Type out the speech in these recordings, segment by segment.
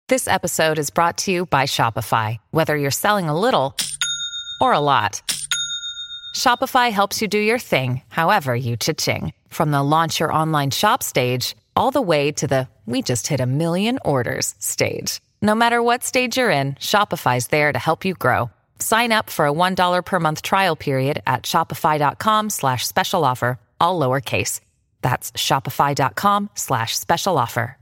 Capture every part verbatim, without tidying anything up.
This episode is brought to you by Shopify. Whether you're selling a little or a lot, Shopify helps you do your thing, however you cha-ching. From the launch your online shop stage, all the way to the we just hit a million orders stage. No matter what stage you're in, Shopify's there to help you grow. Sign up for a one dollar per month trial period at shopify.com slash special offer, all lowercase. That's shopify.com slash special offer.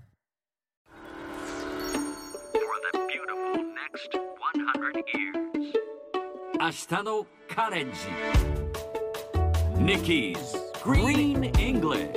For the beautiful next one hundred years. 明日のカレンジ Nikki's Green English。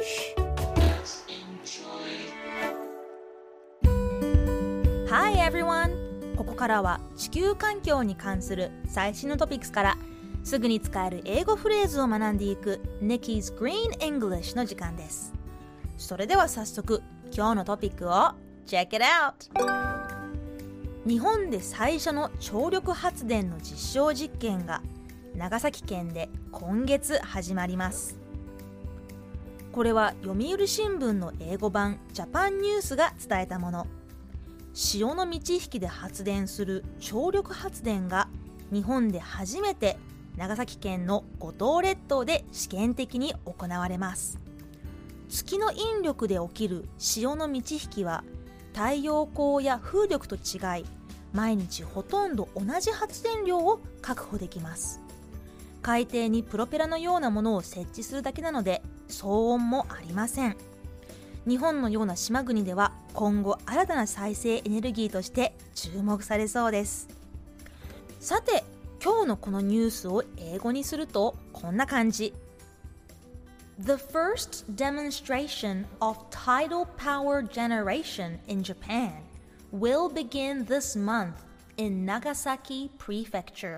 Hi everyone! ここからは地球環境に関する最新のトピックスからすぐに使える英語フレーズを学んでいく Nikki's Green English の時間です。それでは早速今日のトピックを Check it out! 日本で最初の潮力発電の実証実験が長崎県で今月始まります。これは読売新聞の英語版ジャパンニュースが伝えたもの。潮の満ち引きで発電する潮力発電が日本で初めて長崎県の五島列島で試験的に行われます。月の引力で起きる潮の満ち引きは太陽光や風力と違い、毎日ほとんど同じ発電量を確保できます。海底にプロペラのようなものを設置するだけなので騒音もありません。日本のような島国では今後新たな再生エネルギーとして注目されそうです。さて、今日のこのニュースを英語にするとこんな感じ。The first demonstration of tidal power generation in Japan will begin this month in Nagasaki Prefecture.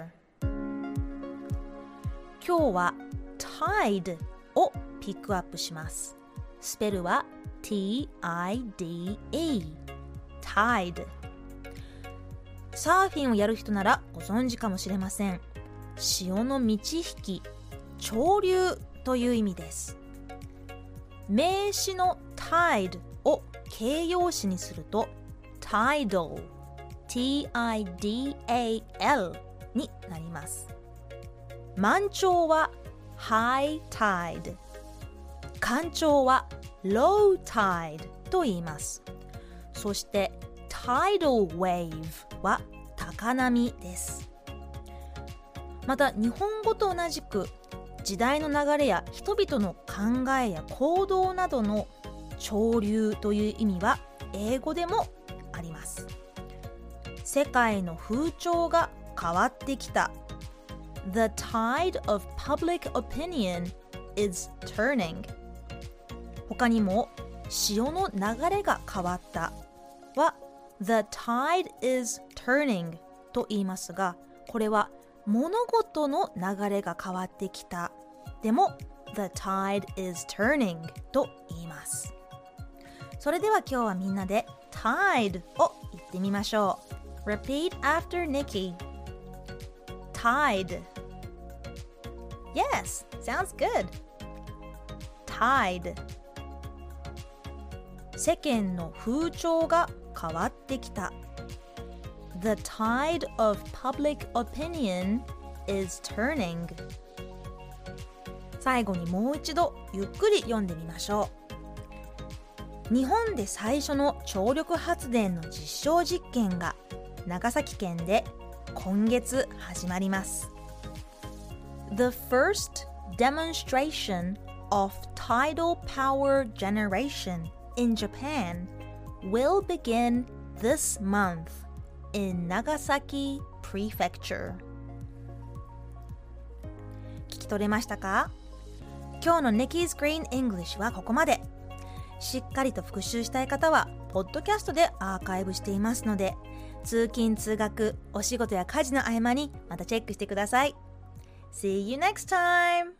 今日は tide をピックアップします。スペルは ティーアイディーイー tide。 サーフィンをやる人ならご存知かもしれません。潮の満ち引き、潮流という意味です。名詞の tide を形容詞にすると tidal、 ティーアイディーエーエル になります。満潮は high tide、 干潮は low tide と言います。そして tidal wave は高波です。また日本語と同じく時代の流れや人々の考えや行動などの潮流という意味は英語でもあります。世界の風潮が変わってきた。 The tide of public opinion is turning。 他にも潮の流れが変わったは The tide is turning と言いますが、これは物事の流れが変わってきた。でも The tide is turning と言います。それでは今日はみんなで tide を言ってみましょう。 Repeat after Nikki. Tide. Yes, sounds good. Tide. 世間の風潮が変わってきた。The tide of public opinion is turning. 最後にもう一度ゆっくり読んでみましょう。日本で最初の潮力発電の実証実験が長崎県で今月始まります。The first demonstration of tidal power generation in Japan will begin this month in Nagasaki Prefecture. 聞き取れましたか？今日の Nikki's Green English はここまで。しっかりと復習したい方はポッドキャストでアーカイブしていますので、通勤通学、お仕事や家事の合間にまたチェックしてください。See you next time!